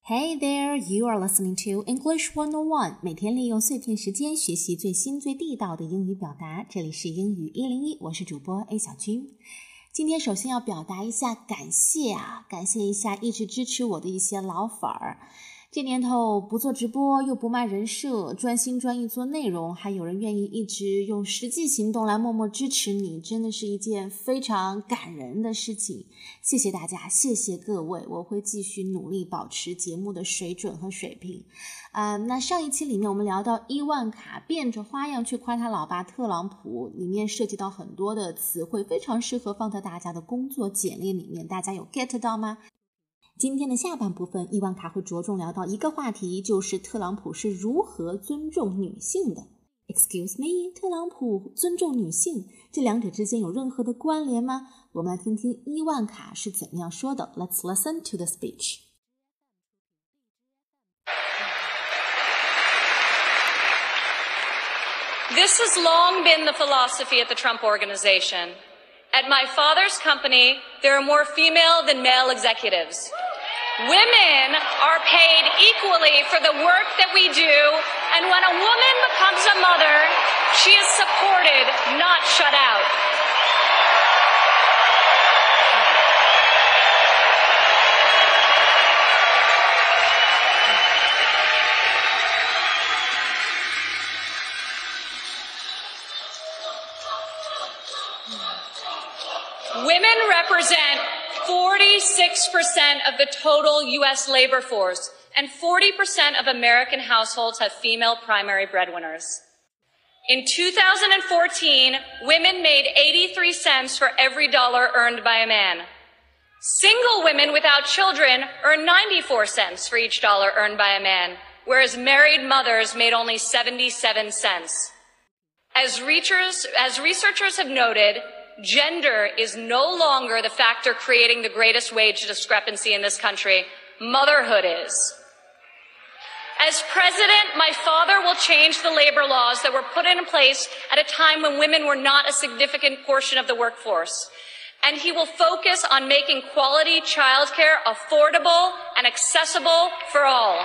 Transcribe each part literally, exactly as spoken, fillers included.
Hey there, you are listening to English one oh one. 每天利用碎片时间学习最新最地道的英语表达。这里是英语一零一，我是主播 A 小军。今天首先要表达一下感谢啊，感谢一下一直支持我的一些老粉儿。这年头不做直播又不卖人设，专心专意做内容，还有人愿意一直用实际行动来默默支持你，真的是一件非常感人的事情。谢谢大家，谢谢各位，我会继续努力保持节目的水准和水平。呃，那上一期里面我们聊到伊万卡变着花样去夸他老爸特朗普，里面涉及到很多的词汇，非常适合放在大家的工作简历里面，大家有 get 到吗？今天的下半部分，伊万卡会着重聊到一个话题，就是特朗普是如何尊重女性的。Excuse me， 特朗普尊重女性，这两者之间有任何的关联吗？我们来听听伊万卡是怎么样说的。Let's listen to the speech. This has long been the philosophy at the Trump Organization. At my father's company, there are more female than male executives. Women are paid equally for the work that we do, and when a woman becomes a mother, she is supported, not shut out. Women represent forty-six percent of the total U S labor force, and forty percent of American households have female primary breadwinners. In two thousand fourteen, women made eighty-three cents for every dollar earned by a man. Single women without children earn ninety-four cents for each dollar earned by a man, whereas married mothers made only seventy-seven cents. As researchers, as researchers have noted, gender is no longer the factor creating the greatest wage discrepancy in this country. Motherhood is. As president, my father will change the labor laws that were put in place at a time when women were not a significant portion of the workforce. And he will focus on making quality childcare affordable and accessible for all.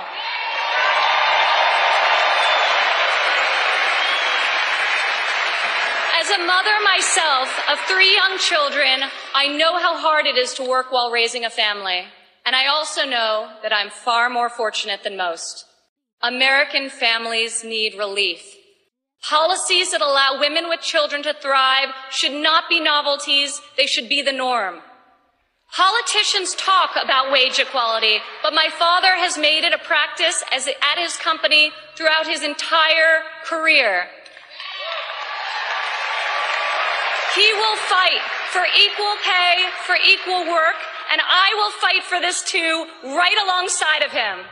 As a mother myself of three young children, I know how hard it is to work while raising a family. And I also know that I'm far more fortunate than most. American families need relief. Policies that allow women with children to thrive should not be novelties, they should be the norm. Politicians talk about wage equality, but my father has made it a practice as at his company throughout his entire career. He will fight for equal pay, for equal work, and I will fight for this too, right alongside of him.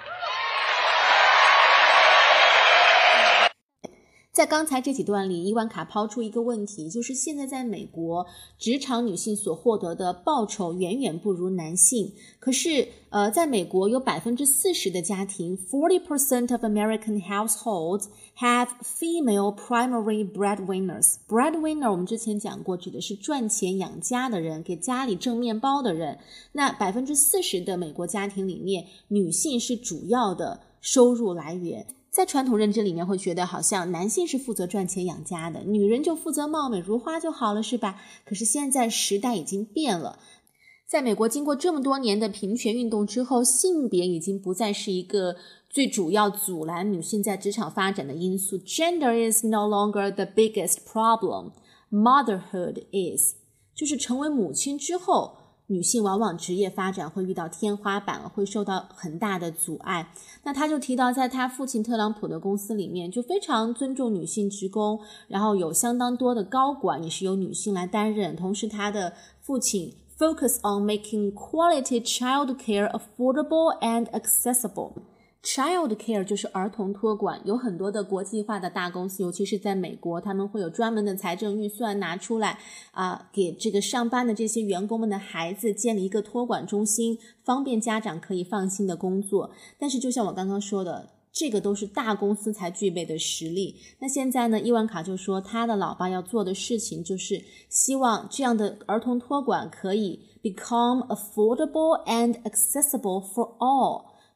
在刚才这几段里，伊万卡抛出一个问题，就是现在在美国，职场女性所获得的报酬远远不如男性。可是，呃，在美国有 百分之四十 的家庭 forty percent of American households have female primary breadwinners. Breadwinner 我们之前讲过，指的是赚钱养家的人，给家里挣面包的人。那 百分之四十 的美国家庭里面，女性是主要的收入来源。在传统认知里面会觉得好像男性是负责赚钱养家的，女人就负责貌美如花就好了，是吧？可是现在时代已经变了，在美国经过这么多年的平权运动之后，性别已经不再是一个最主要阻拦女性在职场发展的因素。 Gender is no longer the biggest problem. Motherhood is. 就是成为母亲之后，女性往往职业发展会遇到天花板，会受到很大的阻碍。那他就提到在他父亲特朗普的公司里面就非常尊重女性职工，然后有相当多的高管也是由女性来担任，同时他的父亲 focus on making quality childcare affordable and accessible.Child care 就是儿童托管，有很多的国际化的大公司，尤其是在美国，他们会有专门的财政预算拿出来啊、呃，给这个上班的这些员工们的孩子建立一个托管中心，方便家长可以放心的工作。但是就像我刚刚说的，这个都是大公司才具备的实力。那现在呢，伊万卡就说他的老爸要做的事情就是希望这样的儿童托管可以 become affordable and accessible for all，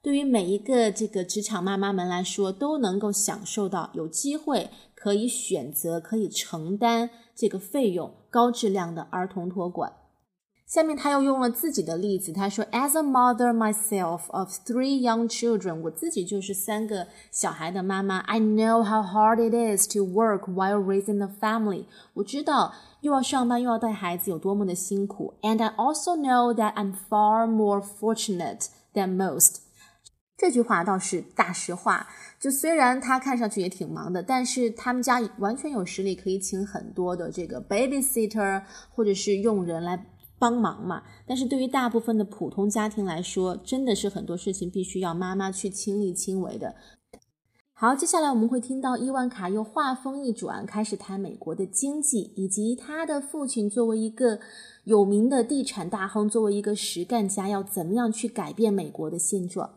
对于每一个这个职场妈妈们来说，都能够享受到有机会可以选择可以承担这个费用高质量的儿童托管。下面他又用了自己的例子，他说 As a mother myself of three young children， 我自己就是三个小孩的妈妈， I know how hard it is to work while raising a family， 我知道又要上班又要带孩子有多么的辛苦， And I also know that I'm far more fortunate than most。 这句话倒是大实话，就虽然他看上去也挺忙的，但是他们家完全有实力可以请很多的这个 babysitter 或者是佣人来帮忙嘛，但是对于大部分的普通家庭来说，真的是很多事情必须要妈妈去亲力亲为的。好，接下来我们会听到伊万卡又话锋一转，开始谈美国的经济，以及他的父亲作为一个有名的地产大亨，作为一个实干家，要怎么样去改变美国的现状。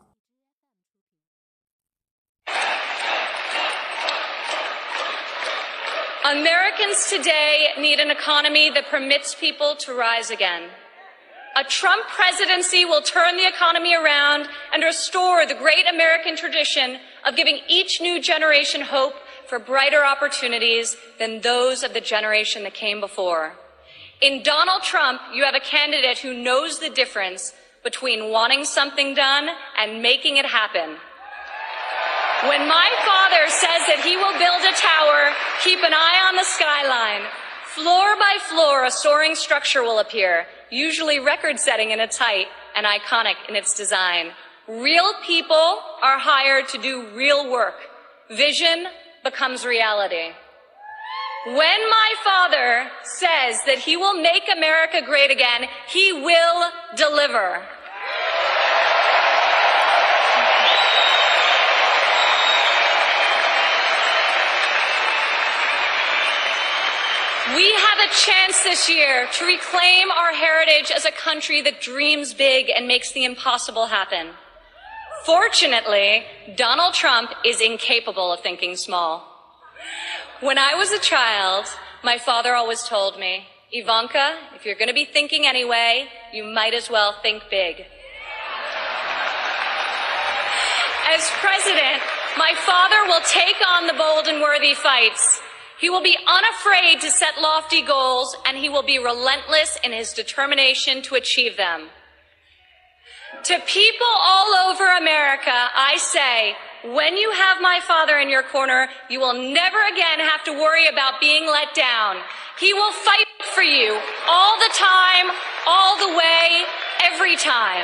Americans today need an economy that permits people to rise again. A Trump presidency will turn the economy around and restore the great American tradition of giving each new generation hope for brighter opportunities than those of the generation that came before. In Donald Trump, you have a candidate who knows the difference between wanting something done and making it happen. When my father says that he will build a tower, keep an eye on the skyline. Floor by floor, a soaring structure will appear, usually record-setting in its height and iconic in its design. Real people are hired to do real work. Vision becomes reality. When my father says that he will make America great again, he will deliver. We have a chance this year to reclaim our heritage as a country that dreams big and makes the impossible happen. Fortunately, Donald Trump is incapable of thinking small. When I was a child, my father always told me, Ivanka, if you're going to be thinking anyway, you might as well think big. As president, my father will take on the bold and worthy fights. He will be unafraid to set lofty goals, and he will be relentless in his determination to achieve them. To people all over America, I say, when you have my father in your corner, you will never again have to worry about being let down. He will fight for you all the time, all the way, every time.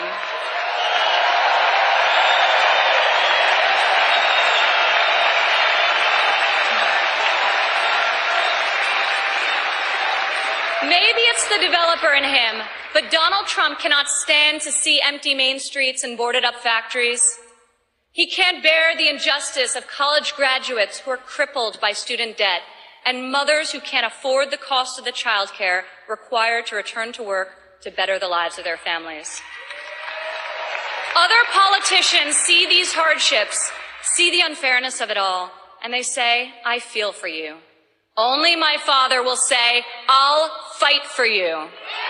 Maybe it's the developer in him, but Donald Trump cannot stand to see empty main streets and boarded up factories. He can't bear the injustice of college graduates who are crippled by student debt and mothers who can't afford the cost of the childcare required to return to work to better the lives of their families. Other politicians see these hardships, see the unfairness of it all, and they say, I feel for you. Only my father will say, I'll fight for you.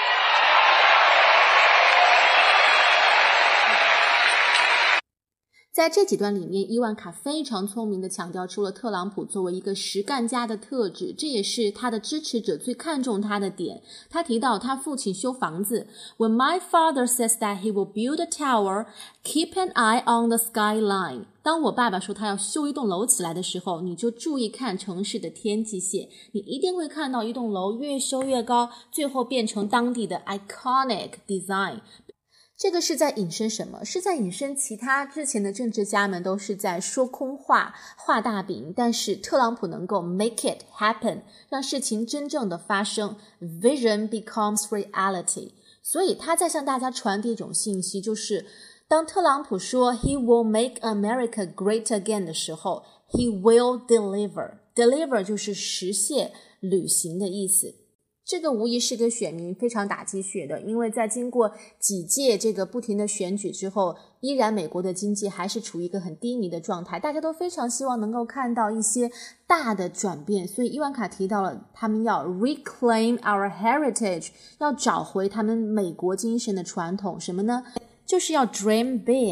在这几段里面，伊万卡非常聪明地强调出了特朗普作为一个实干家的特质，这也是他的支持者最看重他的点。他提到他父亲修房子 When my father says that he will build a tower, keep an eye on the skyline. 当我爸爸说他要修一栋楼起来的时候，你就注意看城市的天际线，你一定会看到一栋楼越修越高，最后变成当地的 iconic design。这个是在引申什么？是在引申其他之前的政治家们都是在说空话、画大饼，但是特朗普能够 make it happen， 让事情真正的发生 ，vision becomes reality。所以他在向大家传递一种信息，就是当特朗普说 he will make America great again 的时候 he will deliver。 deliver 就是实现、履行的意思。这个无疑是给选民非常打鸡血的，因为在经过几届这个不停的选举之后，依然美国的经济还是处于一个很低迷的状态，大家都非常希望能够看到一些大的转变，所以伊万卡提到了他们要 reclaim our heritage， 要找回他们美国精神的传统，什么呢？就是要 dream big。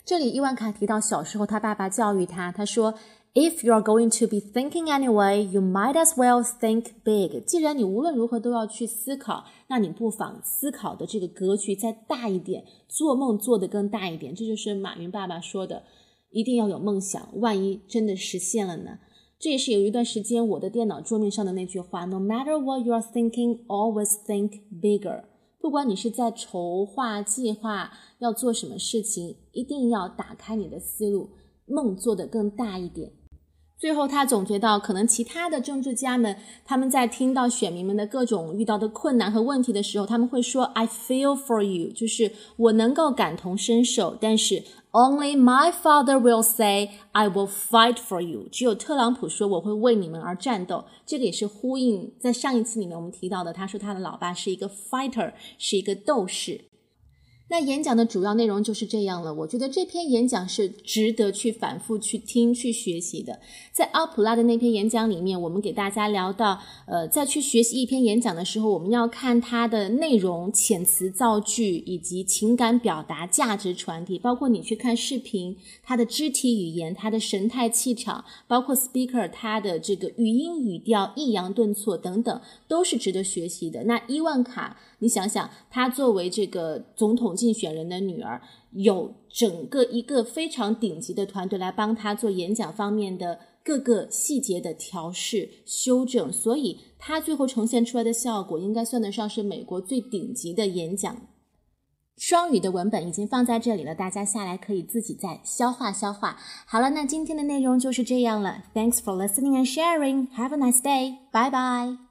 这里伊万卡提到小时候他爸爸教育他，他说 If you're going to be thinking anyway, you might as well think big. 既然你无论如何都要去思考，那你不妨思考的这个格局再大一点，做梦做得更大一点。这就是马云爸爸说的，一定要有梦想，万一真的实现了呢？这也是有一段时间我的电脑桌面上的那句话 No matter what you are thinking, always think bigger. 不管你是在筹划计划要做什么事情，一定要打开你的思路，梦做得更大一点。最后他总结到，可能其他的政治家们，他们在听到选民们的各种遇到的困难和问题的时候，他们会说 I feel for you, 就是我能够感同身受，但是 Only my father will say I will fight for you. 只有特朗普说我会为你们而战斗。这个也是呼应在上一期里面我们提到的，他说他的老爸是一个 fighter, 是一个斗士。那演讲的主要内容就是这样了，我觉得这篇演讲是值得去反复去听去学习的。在奥普拉的那篇演讲里面，我们给大家聊到呃，在去学习一篇演讲的时候，我们要看它的内容、遣词造句以及情感表达、价值传递，包括你去看视频，它的肢体语言、它的神态气场，包括 speaker 它的这个语音语调、抑扬顿挫等等，都是值得学习的。那伊万卡，你想想，她作为这个总统竞选人的女儿，有整个一个非常顶级的团队来帮她做演讲方面的各个细节的调试修正，所以她最后呈现出来的效果应该算得上是美国最顶级的演讲。双语的文本已经放在这里了，大家下来可以自己再消化消化。好了，那今天的内容就是这样了。Thanks for listening and sharing. Have a nice day. Bye bye.